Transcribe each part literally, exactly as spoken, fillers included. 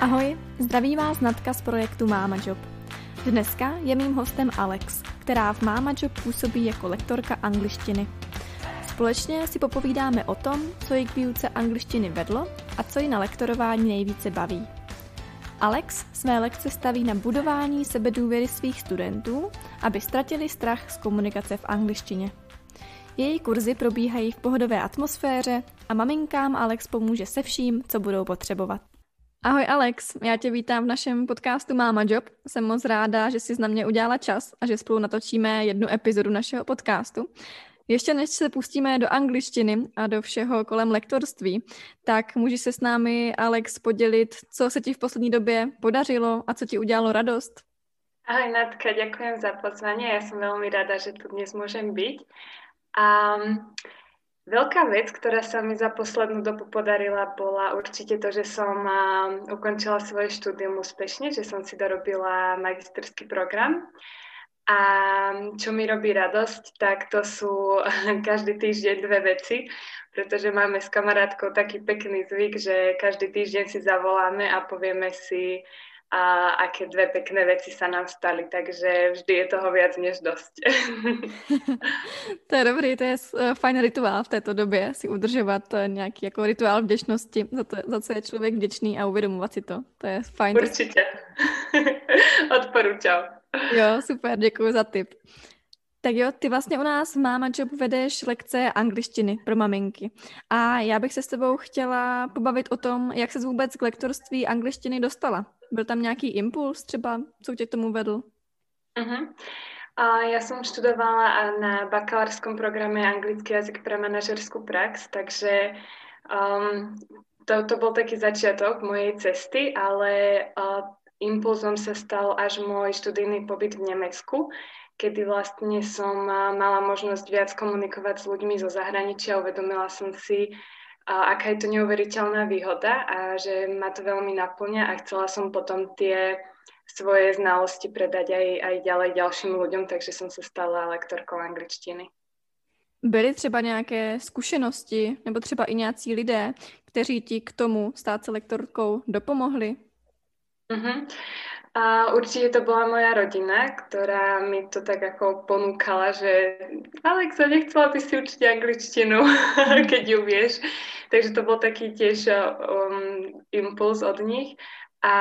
Ahoj, zdraví vás Natka z projektu Máma Job. Dneska je mým hostem Alex, která v Máma Job působí jako lektorka angličtiny. Společně si popovídáme o tom, co ji k výuce angličtiny vedlo a co ji na lektorování nejvíce baví. Alex své lekce staví na budování sebedůvěry svých studentů, aby ztratili strach z komunikace v angličtině. Její kurzy probíhají v pohodové atmosféře a maminkám Alex pomůže se vším, co budou potřebovat. Ahoj Alex, já tě vítám v našem podcastu Máma Job. Jsem moc ráda, že jsi na mě udělala čas a že spolu natočíme jednu epizodu našeho podcastu. Ještě než se pustíme do angličtiny a do všeho kolem lektorství, tak můžeš se s námi, Alex, podělit, co se ti v poslední době podařilo a co ti udělalo radost? Ahoj Natka, ďakujem za pozvanie. Ja som veľmi rada, že tu dnes môžem byť. A veľká vec, ktorá sa mi za poslednú dobu podarila, bola určite to, že som ukončila svoje štúdium úspešne, že som si dorobila magisterský program. A čo mi robí radosť, tak to sú každý týždeň dve veci, pretože máme s kamarátkou taký pekný zvyk, že každý týždeň si zavoláme a povieme si, a aké dve pekné veci sa nám stali, takže vždy je toho viac než dosť. To je dobrý, to je fajn rituál v této době, si udržovat nějaký jako rituál vděčnosti, za, to, za co je člověk vděčný a uvědomovat si to. To je fajn. Určitě. Odporúčam. Jo, super, děkuji za tip. Tak jo, ty vlastně u nás v Máma Job vedeš lekce angličtiny pro maminky. A já bych se s tebou chtěla pobavit o tom, jak ses vůbec k lektorství angličtiny dostala. Byl tam nějaký impuls třeba, co tě k tomu vedl? Uh-huh. Uh, ja som študovala na bakalárskom programe anglický jazyk pre manažerskú prax, takže um, to, to bol taký začiatok mojej cesty, ale uh, impulzom sa stal až môj študijný pobyt v Nemecku, kedy vlastne som mala možnosť viac komunikovať s ľuďmi zo zahraničia. Uvedomila som si, aká je to neuveriteľná výhoda a že ma to veľmi naplňa a chcela som potom tie svoje znalosti predať aj, aj ďalej ďalším ľuďom, takže som sa stala lektorkou angličtiny. Byly třeba nějaké zkušenosti nebo třeba i nějací lidé, kteří ti k tomu stát se lektorkou dopomohli? Uh-huh. A určite to bola moja rodina, ktorá mi to tak ako ponúkala, že Alexa, nechcela by si učiť angličtinu, keď ju vieš. Takže to bol taký tiež um, impuls od nich. A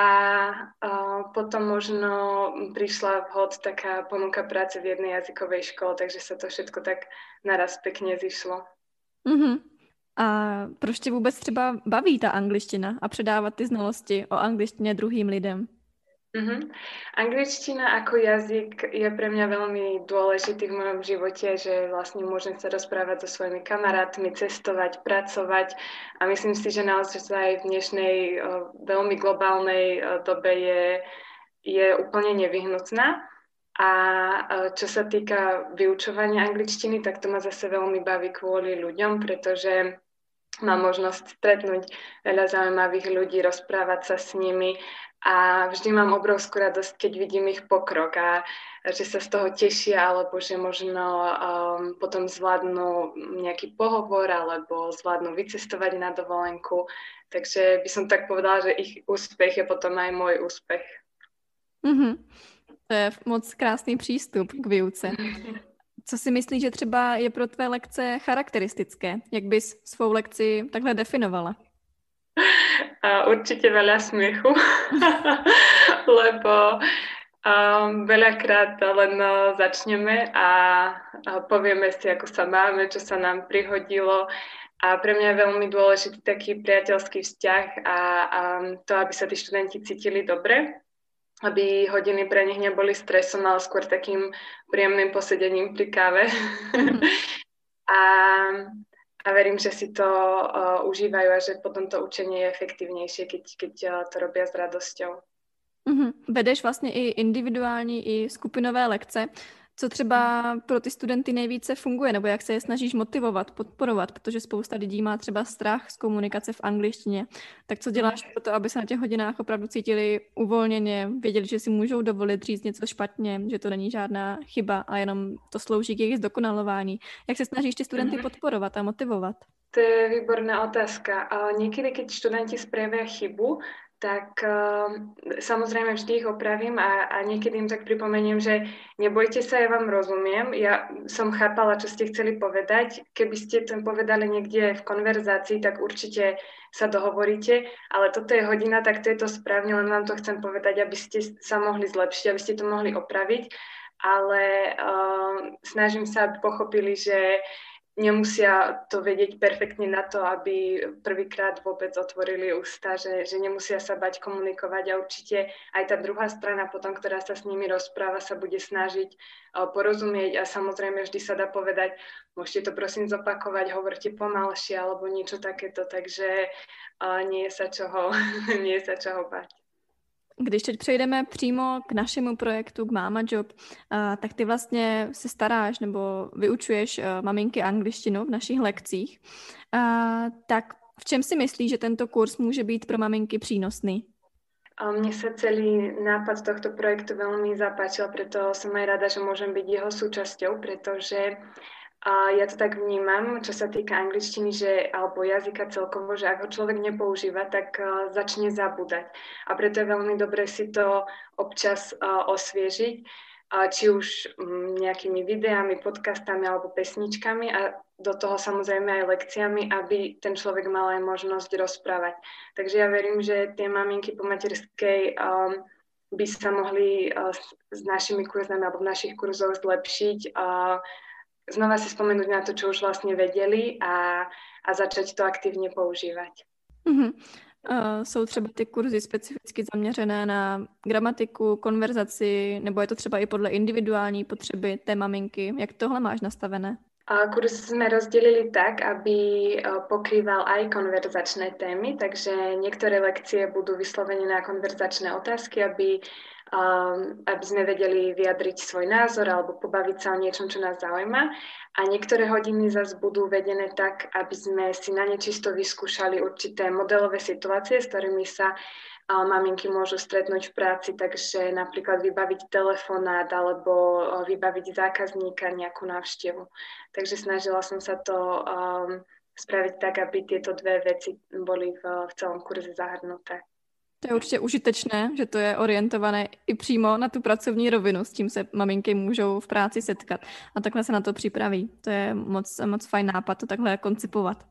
uh, potom možno prišla vhod taká ponuka práce v jednej jazykovej škole, takže sa to všetko tak naraz pekne zišlo. Uh-huh. A proč tě vůbec třeba baví ta angličtina a předávat ty znalosti o angličtině druhým lidem? Uh-huh. Angličtina ako jazyk je pre mňa veľmi dôležitý v mojom živote, že vlastne môžem sa rozprávať so svojimi kamarátmi, cestovať, pracovať a myslím si, že naozaj v dnešnej uh, veľmi globálnej uh, dobe je, je úplne nevyhnutná. A uh, čo sa týka vyučovania angličtiny, tak to ma zase veľmi baví kvôli ľuďom, pretože mám možnosť stretnúť veľa zaujímavých ľudí, rozprávať sa s nimi a vždy mám obrovskú radosť, keď vidím ich pokrok a že sa z toho tešia, alebo že možno um, potom zvládnu nejaký pohovor alebo zvládnu vycestovať na dovolenku. Takže by som tak povedala, že ich úspech je potom aj môj úspech. Mm-hmm. To je moc krásný přístup k výuce. Co si myslíš, že třeba je pro tvé lekce charakteristické? Jak bys svou lekci takhle definovala? A určite veľa smiechu, lebo um, veľakrát len uh, začneme a, a povieme si, ako sa máme, čo sa nám prihodilo. A pre mňa je veľmi dôležitý taký priateľský vzťah a, a to, aby sa tí študenti cítili dobre, aby hodiny pre nich neboli stresom, ale skôr takým príjemným posedením pri káve. a, a verím, že si to uh, užívajú a že potom to učenie je efektívnejšie, keď, keď uh, to robia s radosťou. Mm-hmm. Vedeš vlastně i individuální, i skupinové lekce. Co třeba pro ty studenty nejvíce funguje, nebo jak se je snažíš motivovat, podporovat, protože spousta lidí má třeba strach z komunikace v angličtině. Tak co děláš pro to, aby se na těch hodinách opravdu cítili uvolněně, věděli, že si můžou dovolit říct něco špatně, že to není žádná chyba a jenom to slouží k jejich zdokonalování. Jak se snažíš ty studenty podporovat a motivovat? To je výborná otázka. Niekedy, keď študenti spravia chybu, tak uh, samozrejme vždy ich opravím a, a niekedy im tak pripomeniem, že nebojte sa, ja vám rozumiem, ja som chápala, čo ste chceli povedať. Keby ste to povedali niekde v konverzácii, tak určite sa dohovoríte, ale toto je hodina, tak to je to správne, len vám to chcem povedať, aby ste sa mohli zlepšiť, aby ste to mohli opraviť, ale uh, snažím sa, aby pochopili, že nemusia to vedieť perfektne na to, aby prvýkrát vôbec otvorili ústa, že, že nemusia sa bať komunikovať a určite aj tá druhá strana potom, ktorá sa s nimi rozpráva, sa bude snažiť uh, porozumieť a samozrejme vždy sa dá povedať, môžete to prosím zopakovať, hovorte pomalšie alebo niečo takéto, takže uh, nie je sa čoho, nie je sa čoho bať. Když teď přejdeme přímo k našemu projektu, k Mama Job, tak ty vlastně se staráš nebo vyučuješ maminky angličtinu v našich lekcích. Tak v čem si myslíš, že tento kurz může být pro maminky přínosný? Mne sa celý nápad tohto projektu veľmi zapáčil, preto som aj rada, že môžem byť jeho súčasťou, pretože a ja to tak vnímam, čo sa týka angličtiny, že, alebo jazyka celkovo, že ak ho človek nepoužíva, tak uh, začne zabúdať. A preto je veľmi dobré si to občas uh, osviežiť, uh, či už um, nejakými videami, podcastami alebo pesničkami a do toho samozrejme aj lekciami, aby ten človek mal aj možnosť rozprávať. Takže ja verím, že tie maminky po materskej um, by sa mohli uh, s, s našimi kurzami alebo v našich kurzoch zlepšiť a uh, znova si spomenúť na to, čo už vlastne vedeli a, a začať to aktivně používat. Mm-hmm. Uh, jsou třeba ty kurzy specificky zaměřené na gramatiku, konverzaci, nebo je to třeba i podle individuální potřeby té maminky? Jak tohle máš nastavené? Uh, kurz sme rozdelili tak, aby uh, pokrýval aj konverzačné témy, takže niektoré lekcie budú vyslovene na konverzačné otázky, aby Um, aby sme vedeli vyjadriť svoj názor alebo pobaviť sa o niečom, čo nás zaujíma. A niektoré hodiny zase budú vedené tak, aby sme si na nečisto vyskúšali určité modelové situácie, s ktorými sa uh, maminky môžu stretnúť v práci, takže napríklad vybaviť telefonát alebo uh, vybaviť zákazníka nejakú návštevu. Takže snažila som sa to um, spraviť tak, aby tieto dve veci boli v, v celom kurze zahrnuté. To je určitě užitečné, že to je orientované i přímo na tu pracovní rovinu, s tím se maminky můžou v práci setkat a takhle se na to připraví. To je moc, moc fajn nápad to takhle koncipovat.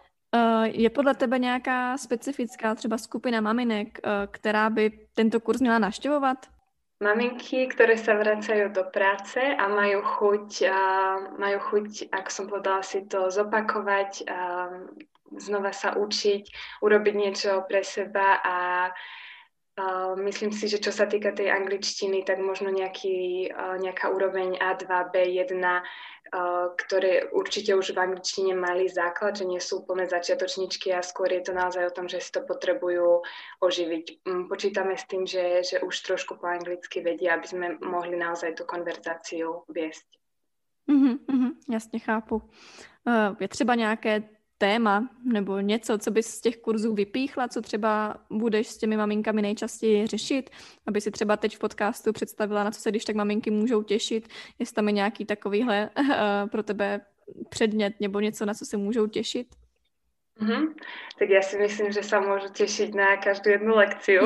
Je podle tebe nějaká specifická třeba skupina maminek, která by tento kurz měla navštěvovat? Maminky, ktoré sa vracajú do práce a majú chuť, a majú chuť, ako som povedala, si to zopakovať, a znova sa učiť, urobiť niečo pre seba a, a myslím si, že čo sa týka tej angličtiny, tak možno nejaký, nejaká úroveň á dva, bé jeden, ktoré určite už v angličtine mali základ, že nie sú úplne začiatočničky a skôr je to naozaj o tom, že si to potrebujú oživiť. Počítame s tým, že, že už trošku po anglicky vedia, aby sme mohli naozaj tú konverzáciu viesť. Mm-hmm, mm-hmm, jasně chápu. Je třeba nějaké téma nebo něco, co bys z těch kurzů vypíchla, co třeba budeš s těmi maminkami nejčastěji řešit, aby si třeba teď v podcastu představila, na co se když tak maminky můžou těšit, jestli tam je nějaký takovýhle uh, pro tebe předmět nebo něco, na co se můžou těšit? Mm-hmm. Tak ja si myslím, že sa môžu tešiť na každú jednu lekciu.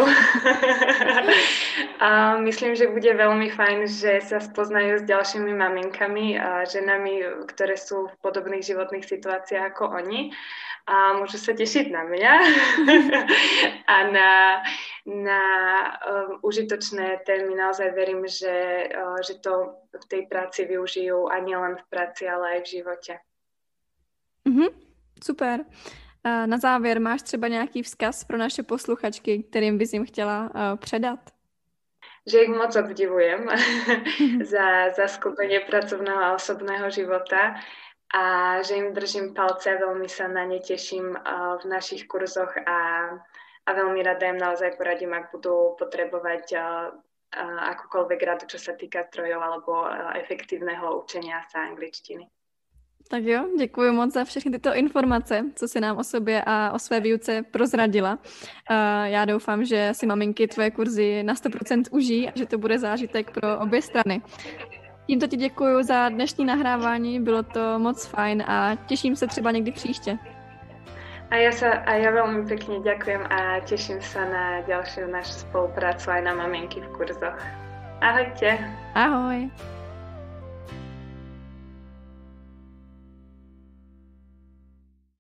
A myslím, že bude veľmi fajn, že sa spoznajú s ďalšími maminkami a ženami, ktoré sú v podobných životných situáciách ako oni. A môžu sa tešiť na mňa a na, na um, užitočné témy. Naozaj verím, že, uh, že to v tej práci využijú a nielen v práci, ale aj v živote. Mhm. Super. Na závěr máš třeba nějaký vzkaz pro naše posluchačky, kterým bys jim chtěla uh, předat? Že ich moc obdivujem za, za skúpenie pracovného a osobného života a že im držím palce, veľmi sa na ne teším uh, v našich kurzoch a, a veľmi rada im naozaj poradím, ak budú potrebovať uh, uh, akúkoľvek radu, čo sa týka zdrojov alebo uh, efektívneho učenia sa angličtiny. Tak jo, děkuji moc za všechny tyto informace, co si nám o sobě a o své výuce prozradila. Já doufám, že si maminky tvoje kurzy na sto procent užijí a že to bude zážitek pro obě strany. Tímto ti děkuji za dnešní nahrávání, bylo to moc fajn a těším se třeba někdy příště. A ja, sa, a ja veľmi pekne ďakujem a teším sa na ďalšiu našu spoluprácu aj na Mamienky v kurzoch. Ahojte. Ahoj.